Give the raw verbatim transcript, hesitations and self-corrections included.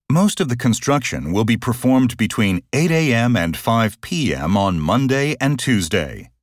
Most of the construction will be performed between eight a m and five p m on Monday and Tuesday.